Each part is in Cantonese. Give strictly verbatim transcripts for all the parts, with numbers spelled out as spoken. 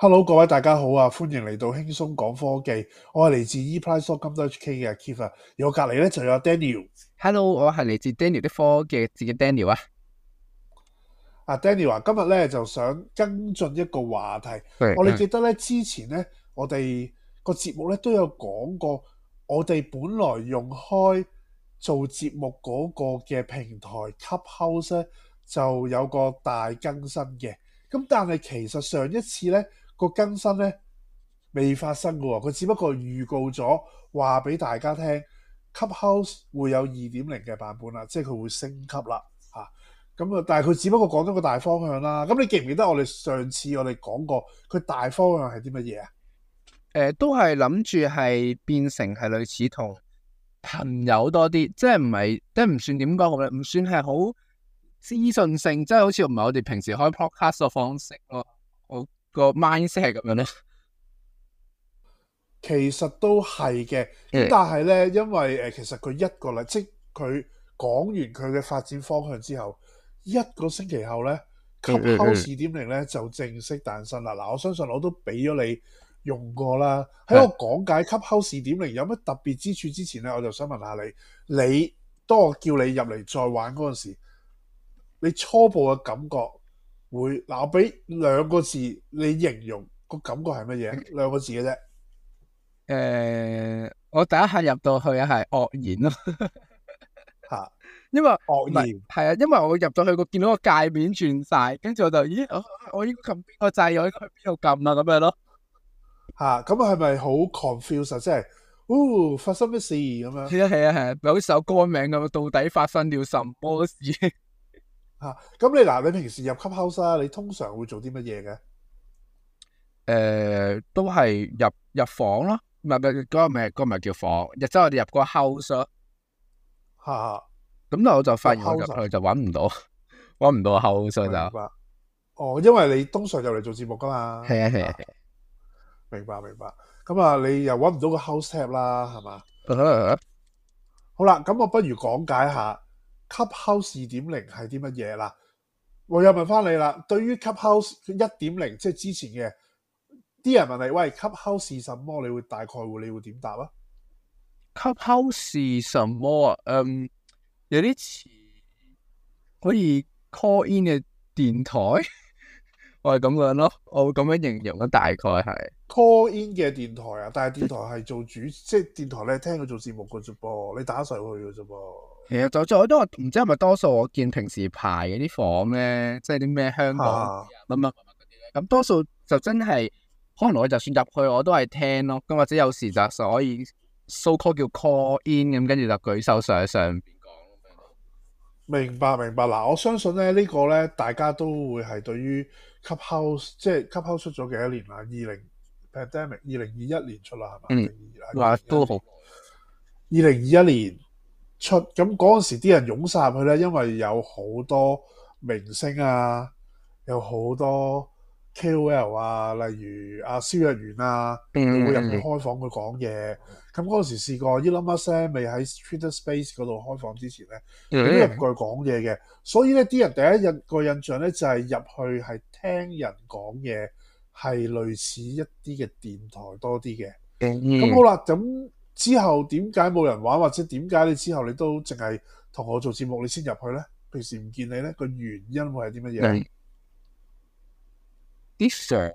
Hello，各位大家好啊，歡迎嚟到輕鬆講科技。我係嚟自 eprice.com.hk 嘅 Keith 啊，而我隔籬咧就有 Daniel。 Hello，我係嚟自 Daniel 的科技自己 Daniel 啊。 啊 Daniel 啊，今日咧就想跟進一個話題。我哋記得咧之前咧，我哋個節目咧都有講過，我哋本來用開做節目嗰個嘅平台 Clubhouse 咧就有個大更新嘅。咁但係其實上一次咧個更新咧未發生嘅喎，佢只不過預告咗話俾大家聽 Clubhouse 會有二點零嘅版本啦，即係佢會升級啦嚇。咁啊，但係佢只不過講咗個大方向啦。咁你記唔記得我哋上次我哋講過佢大方向係啲乜嘢啊？ 誒、呃，都係諗住係變成係類似同朋友多啲，即係唔係，即係唔算點講好咧，唔算係好資訊性，即係好似唔係我哋平時開 podcast 嘅方式咯。我個 mindset 係咁樣咧。 其實都係嘅，咁、嗯、但係咧，因為誒、呃，其實佢一個禮，即係佢講完佢嘅發展方向之後，一個星期後咧 Clubhouse 二點零咧就正式誕生啦。嗱，我相信我都俾咗你用過啦。喺我講解 Clubhouse 二點零有乜特別之處之前咧，我就想問下你，你當我叫你入嚟再玩嗰陣時，你初步嘅感覺會嗱？我俾兩個字你形容個感覺係乜嘢？兩個字嘅啫。 誒、呃，我第一下入到去係愕然咯， 吓， 因為愕然係啊，因為我入到去個見到個界面轉晒，跟住我就咦，我我應該撳邊個掣，我應該去邊度撳啊咁樣咯。 吓，咁係咪好 confuse 啊？即係，哦，發生咩事咁樣？ 係啊係啊係啊，咪好似首歌名咁，到底發生了什麼事？ 吓，咁你嗱，你平時入 Clubhouse 啊，你通常會做啲乜嘢嘅？ 誒，都係入入房咯。唔係唔係，嗰個唔係嗰個唔係叫房，即係我哋入個 house 咯。 吓， 咁但係我就發現我入去就搵唔到，搵唔到 house 就。 明白。哦，因為你通常入嚟做節目噶嘛。 係啊係啊係。 明白明白。咁啊，你又搵唔到個 house tab 啦，係嘛？ Uh-huh. 好啦，咁我不如講解下 Clubhouse 二點零係啲乜嘢啦。我又問翻你啦，對於 Clubhouse 一點零，即係之前嘅。啲人問你，喂 Clubhouse 是什麼？你會大概會你會點答啊 Clubhouse 是什麼啊？嗯，有啲似可以 call in 嘅電台，我係咁樣咯，我會咁樣形容咯，大概係 call in 嘅電台啊。但係電台係做主，即係電台你係聽佢做節目嘅啫噃，你打上去嘅啫噃。 其實就就都話唔知係咪多數我見平時排嗰啲房咧，即係啲咩香港乜乜乜嗰啲咧，咁多數就真係。可能我就算入去我都係聽咯，咁或者有時就所以 so call 叫 call in 咁，跟住就舉手上喺上邊講。 明白明白。嗱，我相信咧呢個咧大家都會係對於 Clubhouse 即係 Clubhouse 出咗幾多年啦？二零 pandemic 二零二一年出啦，係嘛？ 嗯，話都好。二零二一年出，咁嗰陣時啲人湧晒入去咧，因為有好多明星啊，有好多。K O L 啊，例如阿蕭若元啊，會入去開房去講嘢。咁嗰陣時試過 Elon Musk 未喺 Twitter Space 嗰度開房之前咧，佢都入過去講嘢嘅。所以咧，啲人第一印個印象咧就係、是、入去係聽人講嘢，係類似一啲嘅電台多啲嘅。咁、嗯、好啦，咁之後點解冇人玩，或者點解你之後你都淨係同我做節目，你先入去咧？平時唔見你咧，個原因會係啲乜嘢？ 嗯啲相，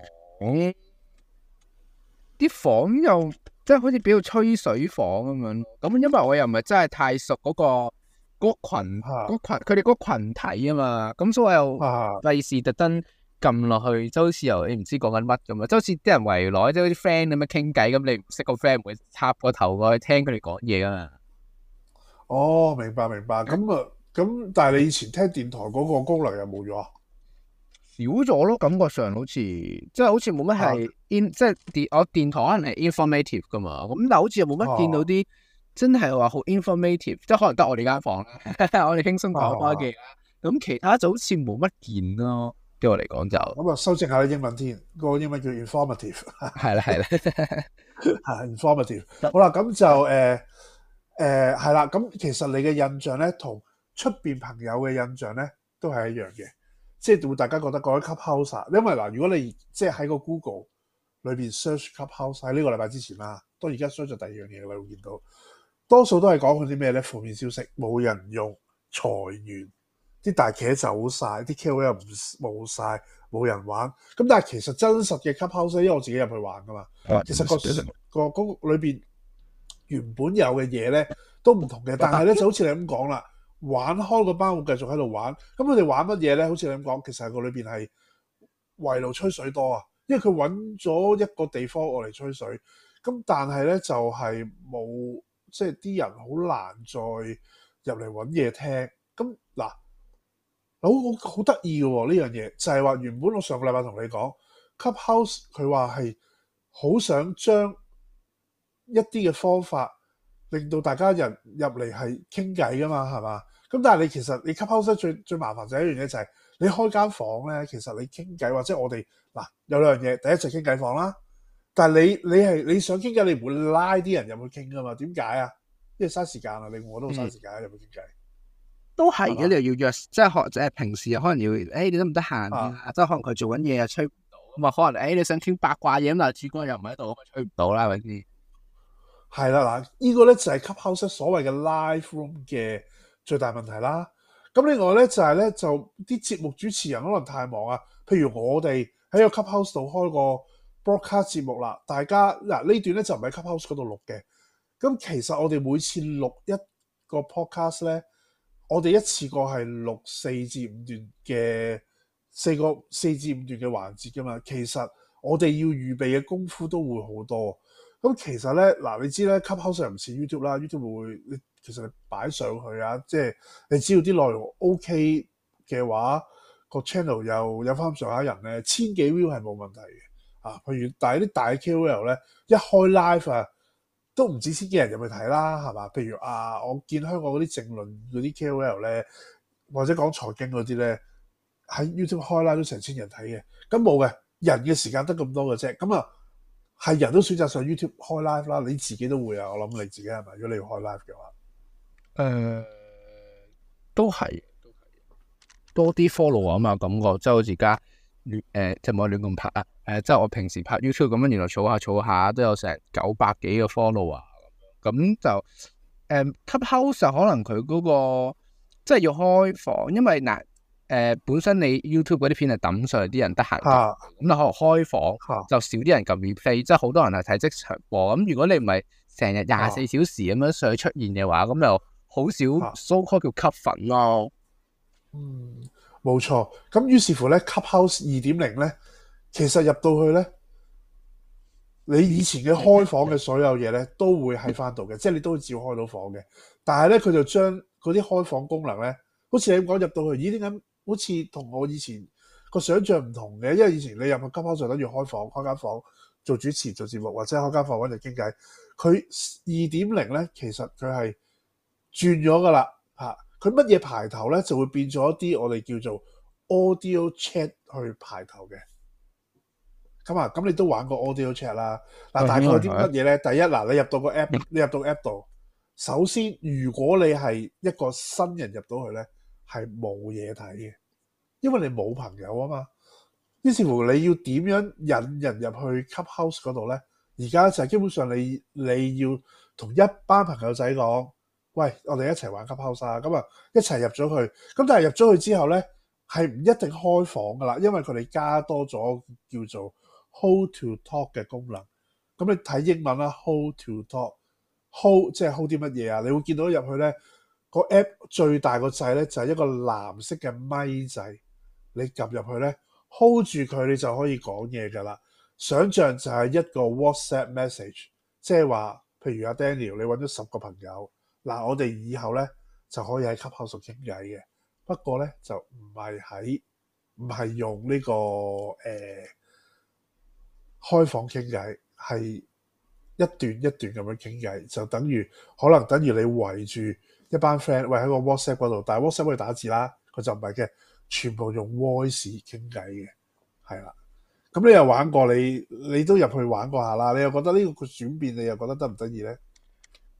啲房又即係好似比較吹水房咁樣。咁因為我又唔係真係太熟嗰、嗰個嗰、嗰個、群，嗰、啊、群佢哋嗰個群體啊嘛。咁所以我又費事特登撳落去，就好似又你唔知講緊乜咁啊。即好似啲人圍內，即係啲 friend 咁樣傾偈咁，你唔識個 friend 唔會插個頭過去聽佢哋講嘢噶嘛。 哦，明白明白。咁啊，咁但係你以前聽電台嗰個功能又冇咗啊？ 少咗咯，感覺上好似即係好似冇乜係 in、啊、即係電我電台可能係 informative 噶嘛，咁但係好似又冇乜見到啲、啊、真係話好 informative，即係可能得我哋間房啦，我哋輕鬆講科技啦，咁、啊、其他就好似冇乜見咯，對我嚟講就咁啊，修正下啲英文添，個英文叫 informative， 係啦係啦， 係 informative。好啦，咁就誒誒係啦，咁、呃呃、其實你嘅印象咧，同出邊朋友嘅印象咧，都係一樣嘅。即係會大家覺得嗰啲 Clubhouse，因為嗱，如果你即係喺個 Google 裏邊 search Clubhouse 喺呢個禮拜之前啦，當而家 search 咗第二樣嘢，你會見到多數都係講佢啲咩咧？負面消息，冇人用，裁員，啲大企走晒，啲 K O L 唔冇晒，冇人玩。咁但係其實真實嘅 Clubhouse，因為我自己入去玩噶嘛，其實、個個嗰個裏邊原本有嘅嘢咧都唔同嘅，但係咧就好似你咁講啦，玩開嗰班會繼續喺度玩。咁佢哋玩乜嘢咧？好似你咁講，其實個裏邊係圍爐吹水多啊，因為佢揾咗一個地方我嚟吹水。咁但係咧就係、是、冇，即係啲人好難再入嚟揾嘢聽。咁嗱，好好得意嘅喎呢樣嘢，就係、是、話原本我上個禮拜同你講 Clubhouse， 佢話係好想將一啲嘅方法令到大家人入嚟係傾偈噶嘛，係嘛？咁但係你其實你 Clubhouse 最最麻煩就係一樣嘢，就係你開間房咧，其實你傾偈或者我哋嗱有兩樣嘢，第一就傾偈房啦。但係你你係你想傾偈，你唔會拉啲人入去傾噶嘛？點解啊？因為嘥時間啊，你我都好嘥時間入去傾偈。 都係嘅，你又要約，即係學即係平時可能要，誒、欸、你得唔得閒啊？即係可能佢做緊嘢又吹唔到，咁啊可能誒、欸、你想傾八卦嘢咁，但係主角又唔喺度，咁啊吹唔到啦，係咪先？ 係啦，嗱，呢個咧就係 Clubhouse 所謂嘅 live room 嘅最大問題啦。咁另外咧就係咧就啲節目主持人可能太忙啊。譬如我哋喺個 Clubhouse 度開個 broadcast 節目啦，大家嗱呢段咧就唔喺 Clubhouse 嗰度錄嘅。咁其實我哋每次錄一個 podcast 咧，我哋一次過係錄四至五段嘅四個四至五段嘅環節噶嘛。其實我哋要預備嘅功夫都會好多。咁其實咧，嗱你知咧 Clubhouse 又唔似 YouTube 啦 ，YouTube 會你其實你擺上去啊，即係你只要啲內容 OK 嘅話，個 channel 又有翻上下人咧，千幾 view 係冇問題嘅啊。譬如但係啲大 K O L 咧，一開 live 啊，都唔止千幾人入去睇啦，係嘛？譬如啊，我見香港嗰啲政論嗰啲 K O L 咧，或者講財經嗰啲咧，喺 YouTube 開 live 都成千人睇嘅。咁冇嘅，人嘅時間得咁多嘅啫。咁啊〜係人都選擇上 YouTube 開 live 啦，你自己都會啊！我諗你自己係咪？如果你要開 live 嘅話， 誒、呃，都係，多啲 follow 啊嘛，感覺即係好似而家亂誒，即係冇亂咁拍啊！誒、呃，即係我平時拍 YouTube 咁樣，原來儲下儲下都有成九百幾個 follow 啊，咁就誒、呃、Clubhouse 可能佢嗰、那個即係要開房，因為嗱。誒、呃，本身你 YouTube 嗰啲片係抌上嚟，啲人得閒，咁你可能開房、啊、就少啲人撳 replay，即係好多人係睇即場播。咁如果你唔係成日廿四小時咁樣上去出現嘅話，咁、啊、就好少 so call 叫吸粉咯。 嗯，冇錯。咁於是乎咧 ，Clubhouse 二點零咧，其實入到去咧，你以前嘅開房嘅所有嘢咧，都會喺翻度嘅，即係你都會照開到房嘅。但係咧，佢就將嗰啲開房功能咧，好似你咁講入到去，咦？點解？好似同我以前個想像唔同嘅，因為以前你入去 Clubhouse 就等於開房、開間房做主持、做節目，或者開間房揾人傾偈。佢二點零咧，其實佢係轉咗噶啦嚇。佢乜嘢排頭咧，就會變咗一啲我哋叫做 audio chat 去排頭嘅。咁啊，咁你都玩過 audio chat 啦。嗱，大概啲乜嘢咧？第一嗱，你入到個 app， 你入到 app 度，首先如果你係一個新人入到去咧，係冇嘢睇嘅，因為你冇朋友啊嘛。於是乎你要點樣引人入去 Clubhouse 嗰度咧？而家就係基本上你你要同一班朋友仔講，喂，我哋一齊玩 Clubhouse 啊！咁啊，一齊入咗去。咁但係入咗去之後咧，係唔一定開房噶啦，因為佢哋加多咗叫做 Hold to Talk 嘅功能。咁你睇英文啦 ，Hold to Talk，Hold 即係 hold 啲乜嘢啊？你會見到入去咧。個 app 最大個掣咧就係一個藍色嘅咪掣，你撳入去咧 hold 住佢，你就可以講嘢噶啦。想像就係一個 WhatsApp message，即係話，譬如阿 Daniel，你揾咗十個朋友，嗱我哋以後咧就可以喺 Clubhouse傾偈嘅。不過咧就唔係喺唔係用呢、這個誒、呃、開房傾偈，係一段一段咁樣傾偈，就等於可能等於你圍住一班 friend， 喂喺個 WhatsApp 嗰度，但係 WhatsApp 可以打字啦，佢就唔係嘅，全部用 voice 傾偈嘅，係啦。咁你又玩過，你你都入去玩過下啦，你又覺得呢個轉變，你又覺得得唔得意咧？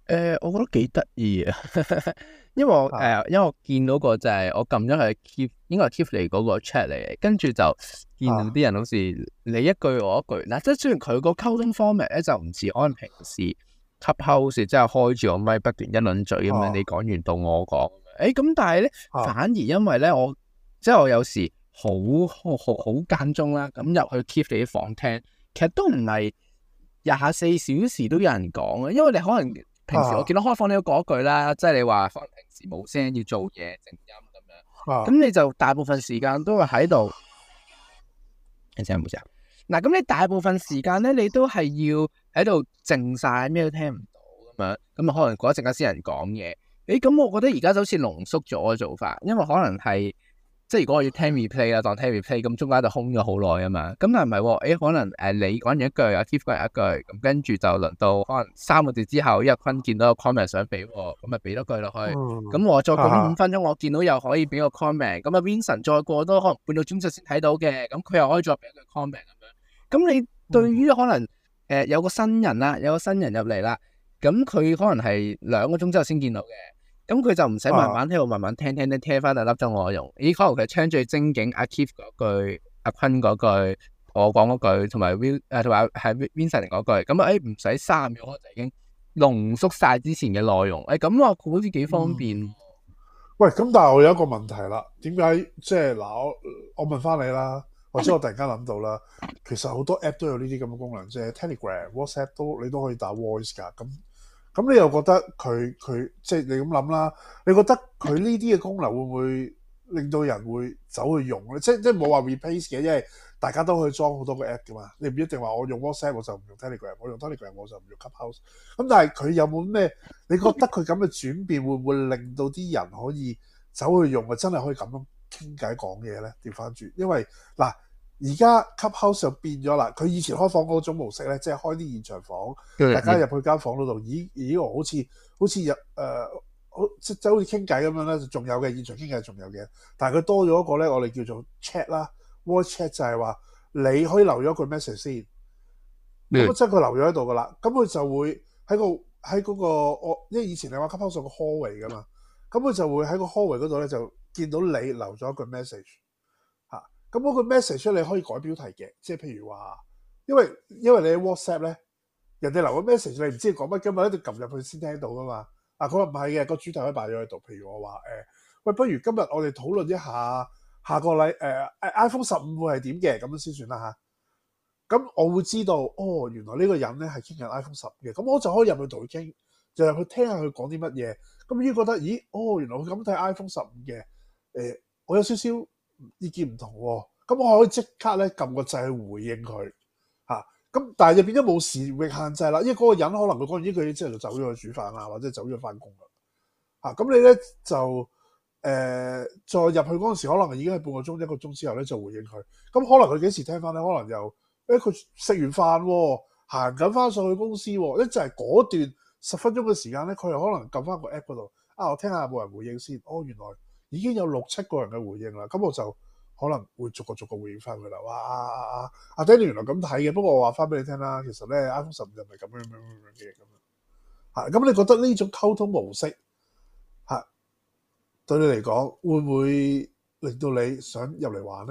誒，我覺得幾得意啊，因為我誒、呃，因為我見到個就係我撳咗佢 keep，應該係 keep 嚟嗰個 chat 嚟嘅，跟住就見到啲人好似你一句我一句，嗱、啊，即係雖然佢個溝通 format 咧就唔似可能平時 Clubhouse 即係開住個咪不斷一輪嘴咁樣，啊、你講完到我講，誒咁，但係咧、啊、反而因為咧我即係我有時好好好好間中啦，咁入去 keep 你啲房聽，其實都唔係廿四小時都有人講啊，因為你可能。平時我見到開房你都講一句啦，即係你話可能平時冇聲要做嘢靜音咁樣，咁、啊、你就大部分時間都係喺度。聽聲冇聲。嗱，咁你大部分時間咧，你都係要喺度靜晒，咩都聽唔到咁樣，咁啊可能過一陣間先有人講嘢。誒，咁我覺得而家就好似濃縮咗嘅做法，因為可能係。即係如果我要聽 replay 啦，當聽 replay 咁，中間就空咗好耐啊嘛。咁但係唔係喎？誒，可能誒你講完一句，阿 Keith 講完一句，咁跟住就輪到可能三個字之後，因為坤見到個 comment 想俾喎，咁咪俾多句落去。咁、嗯、我再講五分鐘，我見到又可以俾個 comment。咁啊 Vincent 再過多可能半個鐘就先睇到嘅，咁佢又可以再俾一句 comment 咁樣。咁你對於可能誒、呃、有個新人啦，有個新人入嚟啦，咁佢可能係兩個鐘之後先見到嘅。咁佢就唔使慢慢喺度慢慢聽聽聽聽翻第粒鐘我用，咦可能佢聽最精警阿 Keith 嗰句，阿坤嗰句，我講嗰句，同埋 Will 誒同埋係 Vincent 嗰句，咁啊誒唔使三秒我就已經濃縮晒之前嘅內容，誒咁啊好似幾方便。嗯、 喂，咁但係我有一個問題啦，點解即係嗱我我問翻你啦，或者我突然間諗到啦，其實好多 app 都有呢啲咁嘅功能，即係 Telegram、WhatsApp 都你都可以打 voice 㗎，咁。咁你又覺得佢佢即係你咁諗啦？你覺得佢呢啲嘅功能會唔會令到人會走去用咧？即即係冇話 replace 嘅，因為大家都可以裝好多個 app 噶嘛。你唔一定話我用 WhatsApp 我就唔用 Telegram，我用 Telegram 我就唔用 Clubhouse。咁但係佢有冇咩？你覺得佢咁嘅轉變會唔會令到啲人可以走去用啊？真係可以咁樣傾偈講嘢咧？調翻轉，因為嗱。而家 Clubhouse 就變咗啦，佢以前開房嗰種模式咧，即係開啲現場房，嗯、大家入去間房嗰度，咦咦好似好似入誒，好即係好似傾偈咁樣咧，就仲有嘅現場傾偈仲有嘅，但係佢多咗一個咧，我哋叫做 chat 啦 ，voice chat 就係話你可以留咗句 message 先，咁、嗯、即係佢留咗喺度噶啦，咁佢就會喺個喺嗰個我，因為以前你話 Clubhouse 個 hallway 噶嘛，咁佢就會喺個 hallway 嗰度咧就見到你留咗一句 message。咁嗰個 message 你可以改標題嘅，即係譬如話，因為因為你喺 WhatsApp 咧，人哋留個 message 你唔知講乜，今日一定撳入去先聽到噶嘛。啊，佢話唔係嘅，個主題可以擺咗喺度。譬如我話誒，喂，不如今日我哋討論一下下個禮誒、呃、iPhone 十五會係點嘅，咁樣先算啦嚇。咁我會知道，哦，原來呢個人咧係傾緊 iPhone 十五嘅，咁我就可以入去同佢傾，就入去聽下佢講啲乜嘢。咁已經覺得，咦，哦，原來佢咁睇 iPhone 十五嘅，誒、呃，我有少少意見唔同喎，咁我可以即刻咧撳個掣去回應佢嚇，咁但係就變咗冇時域限制啦，因為嗰個人可能佢講完呢句嘢之後就走咗去煮飯啊，或者走咗去翻工啦嚇，咁你咧就誒、呃、再入去嗰陣時，可能已經係半個鐘一個鐘之後咧就回應佢，咁可能佢幾時聽翻咧？可能又誒佢食完飯喎，行緊翻上去公司喎，一就係嗰段十分鐘嘅時間咧，佢又可能撳翻個 app 嗰度啊，我聽下有冇人回應先，哦原來。已經有六七個人嘅回應啦，咁我就可能會逐個逐個回應翻佢啦。哇！阿阿阿阿 Danny 原來咁睇嘅，不過我話翻俾你聽啦，其實咧 iPhone 十五就唔係咁樣樣樣樣嘅咁樣嚇。咁你覺得呢種溝通模式嚇對你嚟講會唔會令到你想入嚟玩咧？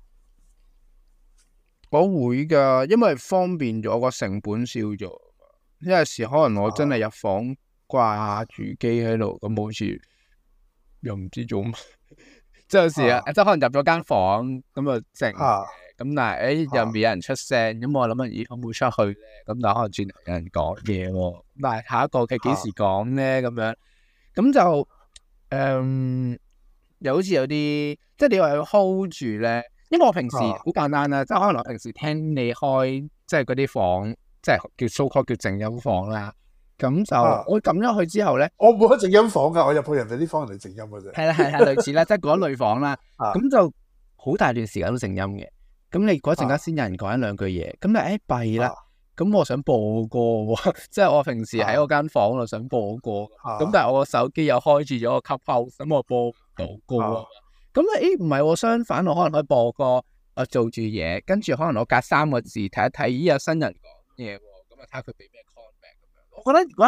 我會㗎，因為方便咗，個成本少咗。有時可能我真係入房掛住機喺度，咁好似〜又唔知做乜，即係有時啊，即係可能入咗間房咁啊靜嘅，咁、啊、但係誒又未有人出聲，咁我諗啊，咦可唔可以出去咧？咁但係可能轉頭有人講嘢喎，但係下一個佢幾時講咧？咁樣咁就誒、嗯，又好似有啲即係你話要 hold 住咧，因為我平時好簡單啦，即係可能我平時聽你開即係嗰啲房，即係叫 so call 叫靜音房啦。咁就、啊、我撳咗去之後咧， 我冇開靜音房噶，我入去人哋啲房，人哋靜音嘅啫。係啦係啦，類似啦，即係嗰類房啦。咁、啊、就好大段時間都靜音嘅。咁你嗰陣間先有人講一兩句嘢，咁你誒弊啦。咁、啊、我想播歌喎，即係我平時喺嗰間房度想播歌。咁、啊、但係我個手機又開住咗個 Clubhouse，咁我播唔到歌啊。咁誒唔係喎，相反我可能可以播歌，我做住嘢，跟住可能我隔三個字睇一睇，咦有新人講嘢喎，咁啊睇下佢俾咩。我覺得如果係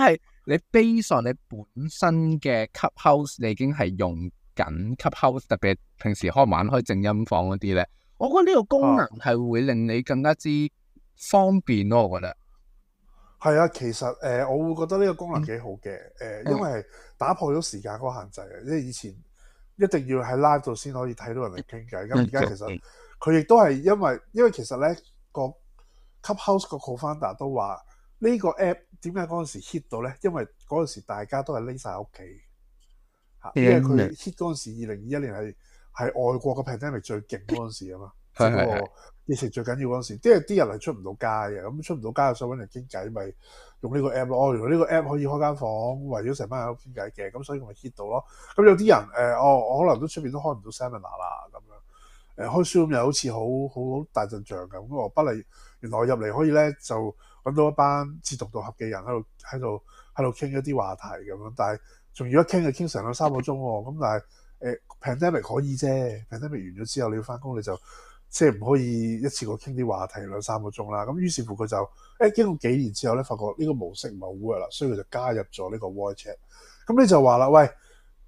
你 base on 你本身嘅 Clubhouse，你已經係用緊 Clubhouse，特別平時開玩開靜音房嗰啲咧，我覺得呢個功能係會令你更加之方便咯。我覺得係啊，其實誒、呃，我會覺得呢個功能幾好嘅誒、嗯呃，因為打破咗時間嗰個限制啊，即係以前一定要喺 live 度先可以睇到人哋傾偈，咁而家其實佢亦都係因為因為其實咧個 Clubhouse 個 co-founder 都話呢個 app 點解嗰陣時 hit 到咧？因為嗰陣時大家都係匿晒喺屋企嚇，因為佢 hit 嗰陣時二零二一年係係外國嘅 pandemic 最勁嗰陣時啊嘛，即係嗰個疫情最緊要嗰陣時，即係啲人係出唔到街嘅，咁出唔到街就想揾人傾偈，咪用呢個 app 咯。哦，原來呢個 app 可以開間房，圍咗成班人喺度傾偈嘅，咁所以咪 hit 到咯。咁有啲人誒、呃，哦，我可能都出邊都開唔到 seminar 啦，咁樣誒、呃、開 Zoom 又好似好好好大陣仗咁。咁我不嚟，原來我入嚟可以咧就揾到一班志同道合嘅人喺度喺度喺度傾一啲話題咁樣，但係仲要一傾就傾成兩三個鐘喎。咁但係誒、呃、pandemic 可以啫 ，pandemic 完咗之後你要翻工你就。即係唔可以一次過傾啲話題兩三個鐘啦，咁於是乎佢就誒經過幾年之後咧，發覺呢個模式唔係好 work 啦，所以佢就加入咗呢個 voice chat。咁你就話啦，喂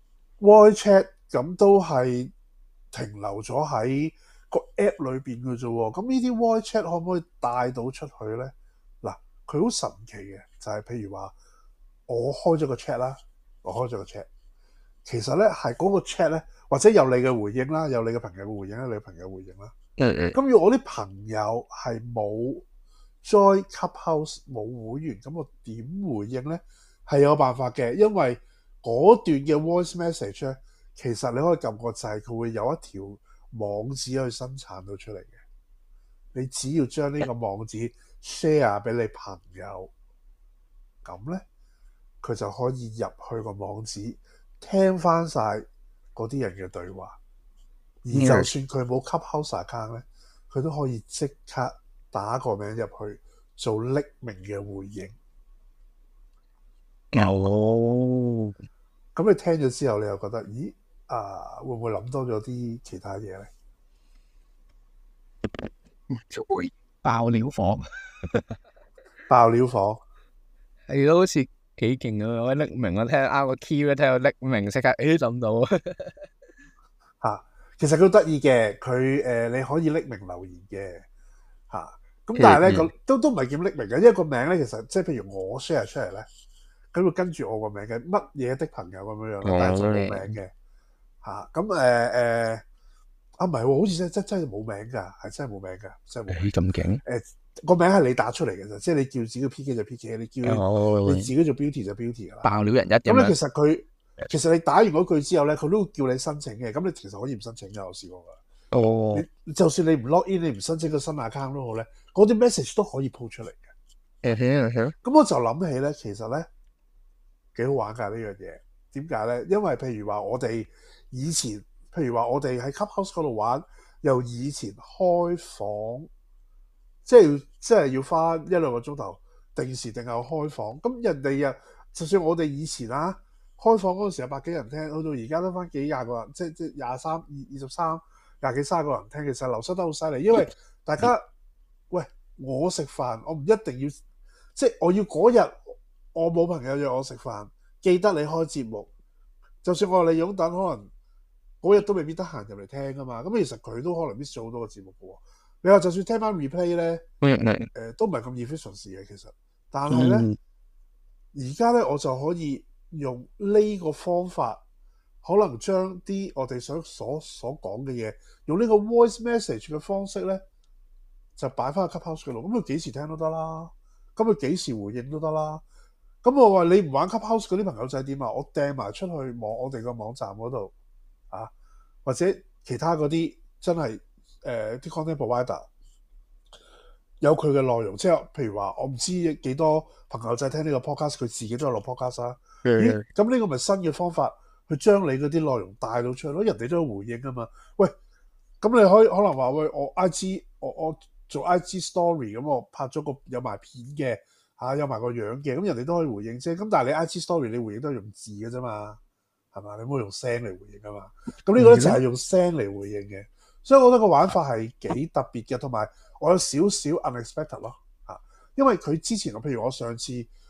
voice chat 咁都係停留咗喺個 app 裏邊嘅啫喎，咁呢啲 voice chat 可唔可以帶到出去咧？嗱，佢好神奇嘅，就係、是、譬如話我開咗個 chat 啦，我開咗個 chat， 其實咧係嗰個 chat 咧，或者有你嘅回應啦，有你嘅朋友嘅回應啦，你嘅朋友回應啦。咁如果我啲朋友係冇 join Clubhouse 冇會員，咁我點回應咧？係有辦法嘅，因為嗰段嘅 voice message 咧，其實你可以撳個掣，佢會有一條網址去生產到出嚟嘅。你只要將呢個網址 share 俾你朋友，咁咧佢就可以入去個網址聽翻晒嗰啲人嘅對話。而就算佢冇 Clubhouse account 咧，佢都可以即刻打個名入去做匿名嘅回應。 哦， 咁你聽咗之後，你又覺得，咦啊，會唔會諗多咗啲其他嘢咧？ 就會爆料房， 爆料房係咯，好似幾勁啊！我匿名，我聽啱個 key 咧，聽到匿名，即刻誒諗到嚇。其實佢好得意嘅，佢誒、呃、你可以匿名留言嘅嚇，咁、啊、但係咧個都都唔係叫匿名嘅，因為個名咧其實即係譬如我 share 出嚟咧，佢會跟住我個名嘅乜嘢的朋友咁樣樣，但係就冇名嘅嚇。咁誒誒啊唔係喎，好似真真真係冇名㗎，係真係冇名㗎，真係冇名。 咁勁誒個名係你打出嚟嘅啫，即係你叫自己 P K 就 P K， 你叫你自己做 beauty 就 beauty 㗎啦。 爆料人一咁咧，其實佢。其實你打完嗰句之後咧，佢都會叫你申請嘅。咁你其實可以唔申請嘅，我試過㗎。哦，你就算你唔 log in，你唔申請個新 account 都好咧，嗰啲 message 都可以 po 出嚟嘅。咁、嗯、我就諗起咧，其實咧幾好玩㗎呢樣嘢。點解咧？因為譬如話我哋以前，譬如話我哋喺 Clubhouse 嗰度玩，由以前開房，即係即係要花一兩個鐘頭定時定候開房。咁人哋啊，就算我哋以前啊。開房嗰陣時有百幾人聽，去到而家得翻幾廿個人，即係即係廿三、二二十三、廿幾三十個人聽，其實流失得好犀利。因為大家喂我食飯，我唔一定要，即係我要嗰日我冇朋友約我食飯，記得你開節目。就算我話你擁躉，可能嗰日都未必得閒入嚟聽噶嘛。咁其實佢都可能 miss 咗好多個節目嘅喎。你話就算聽翻 replay 咧，誒、呃、都唔係咁 efficient 嘅其實，但係咧而家咧我就可以。用呢個方法，可能將啲我哋想所所講嘅嘢，用呢個 voice message 嘅方式咧，就擺翻去 Clubhouse 嗰度。咁佢幾時聽都得啦，咁佢幾時回應都得啦。咁我話你唔玩 Clubhouse 嗰啲朋友仔點啊？我掟埋出去網我哋個網站嗰度啊，或者其他嗰啲真係誒啲、呃、content provider 有佢嘅內容，即係譬如話我唔知幾多朋友仔聽呢個 podcast，佢自己都有落 podcast 啦。咦？咁呢個咪新嘅方法去將你嗰啲內容帶到出去咯？人哋都有回應啊嘛。喂，咁你可以可能話喂，我 I G 我我做 I G story 咁，我拍咗個有埋片嘅嚇、啊，有埋個樣嘅，咁人哋都可以回應啫。咁但係你 I G story 你回應都係用字嘅啫嘛，係嘛？你唔好用聲嚟回應啊嘛。咁呢個咧就係用聲嚟回應嘅，所以我覺得個玩法係幾特別嘅，同埋我有少少 unexpected 咯嚇，因為佢之前我譬如我上次。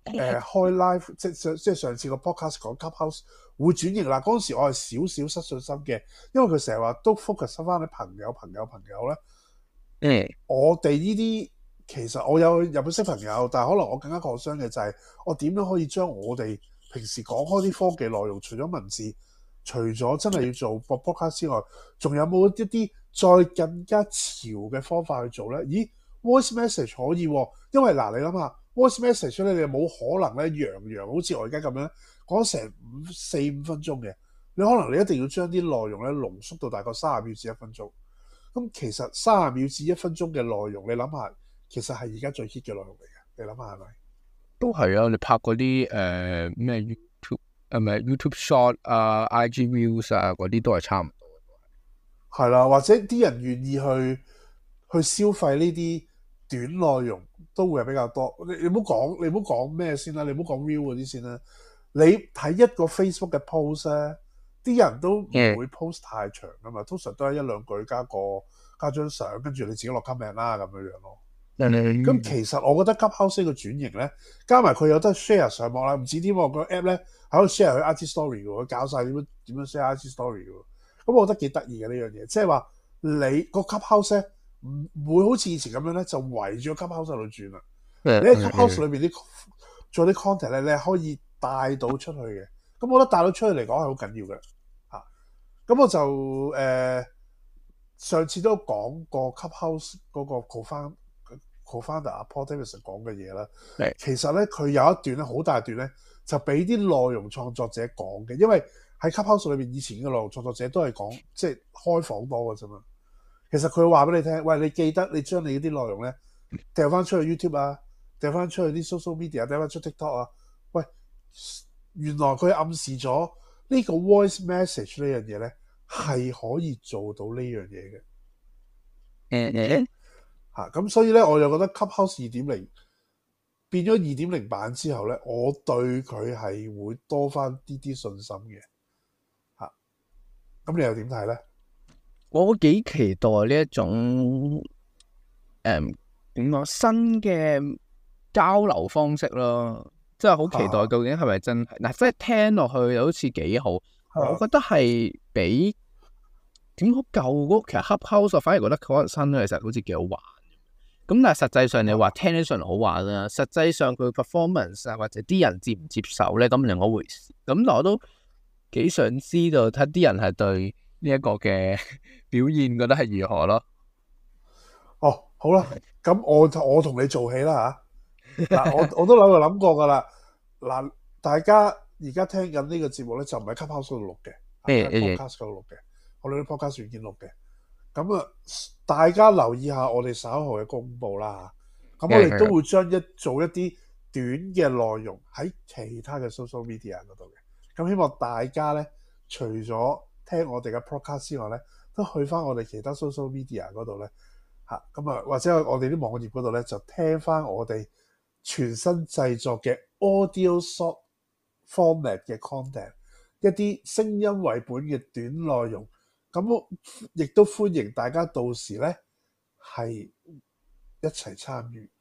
誒開 live，即係即係上次個 podcast 講 Clubhouse 會轉型啦。嗰陣時我係少少失信心嘅，因為佢成日話都 focus 翻喺朋友、朋友、朋友咧。 嗯， 我哋呢啲其實我有日本識朋友，但係可能我更加 concern 嘅就係我點樣可以將我哋平時講開啲科技內容，除咗文字，除咗真係要做個 podcast 之外，仲有冇一啲再更加潮嘅方法去做咧？咦 ，voice message 可以喎，因為嗱你諗下 voice message 咧，你冇可能咧洋洋好似我而家咁樣講成五四五分鐘嘅，你可能你一定要將啲內容咧濃縮到大概三十秒至一分鐘。咁其實三十秒至一分鐘嘅內容，你諗下，其實係而家最 hit 嘅內容嚟嘅。你諗下係咪？ 都係啊！你拍嗰啲誒咩 YouTube 誒咪 YouTube Short 啊、I G Views 啊嗰啲都係差唔多。 係啦，或者啲人願意去去消費呢啲短內容，都會係比較多。你你唔好講，你唔好講咩先啦，你唔好講 Real 嗰啲先啦。你睇一個 Facebook 嘅 post 咧。啲人都唔會 post 太長噶嘛，通常都係一兩句加個加張相，跟住你自己落 comment 啦咁樣樣咯。咁、嗯、其實我覺得 Clubhouse 個轉型咧，加埋佢有得 share 上網啦，唔止添喎，個 app 咧喺度 share 佢 I G story 嘅喎，佢教晒點樣點樣 share I G story 嘅喎。咁我覺得幾得意嘅呢樣嘢，即係話你個 Clubhouse 咧唔會好似以前咁樣咧，就圍住個 Clubhouse 喺度轉啦。你喺 Clubhouse 裏邊啲做啲 content 咧，你係可以帶到出去嘅。咁我覺得帶到出去嚟講係好緊要嘅嚇。咁我就誒、呃、上次都講過 Clubhouse 嗰個 co-founder co-founder 阿 Paul Davidson 講嘅嘢啦。其實咧佢有一段咧好大段咧，就俾啲內容創作者講嘅。因為喺 Clubhouse 裏邊以前嘅內容創作者都係講即係開房多嘅啫嘛。其實佢話俾你聽，喂，你記得你將你啲內容咧掉翻出去 YouTube 啊，掉翻出去啲 social media，掉翻出 TikTok 啊，喂。原來佢暗示咗呢個 voice message 呢樣嘢咧，係可以做到呢樣嘢嘅。 誒誒嚇咁，所以咧我就覺得 Clubhouse 二點零變咗二點零版之後咧，我對佢係會多翻啲啲信心嘅。嚇、啊、咁，你又點睇咧？ 我幾期待呢一種誒點講新嘅交流方式咯。真係好期待，究竟係咪真係嗱？即係聽落去又好似幾好，我覺得係比點好舊嗰其實 Clubhouse 反而覺得嗰個新咧，其實好似幾好玩。咁但係實際上你話聽起上嚟好玩啦，實際上佢 performance 啊或者啲人接唔接受咧，咁另一回事。咁我都幾想知道睇啲人係對呢一個嘅表現覺得係如何咯。 哦，好啦，咁我我同你做起啦嚇。嗱，我我都諗過諗過噶啦。嗱，大家而家聽緊呢個節目咧，就唔係 Clubhouse 度錄嘅，係 podcast 度錄嘅，我哋啲 podcast 軟件錄嘅。咁啊，大家留意下我哋稍後嘅公佈啦嚇。咁我哋都會將一做一啲短嘅內容喺其他嘅 social media 嗰度嘅。咁希望大家咧，除咗聽我哋嘅 podcast 之外咧，都去翻我哋其他 social media 嗰度咧嚇。咁啊，或者我哋啲網頁嗰度咧，就聽翻我哋全新製作嘅 audio short format 嘅 content， 一啲聲音為本嘅短內容，咁亦都歡迎大家到時咧係一齊參與，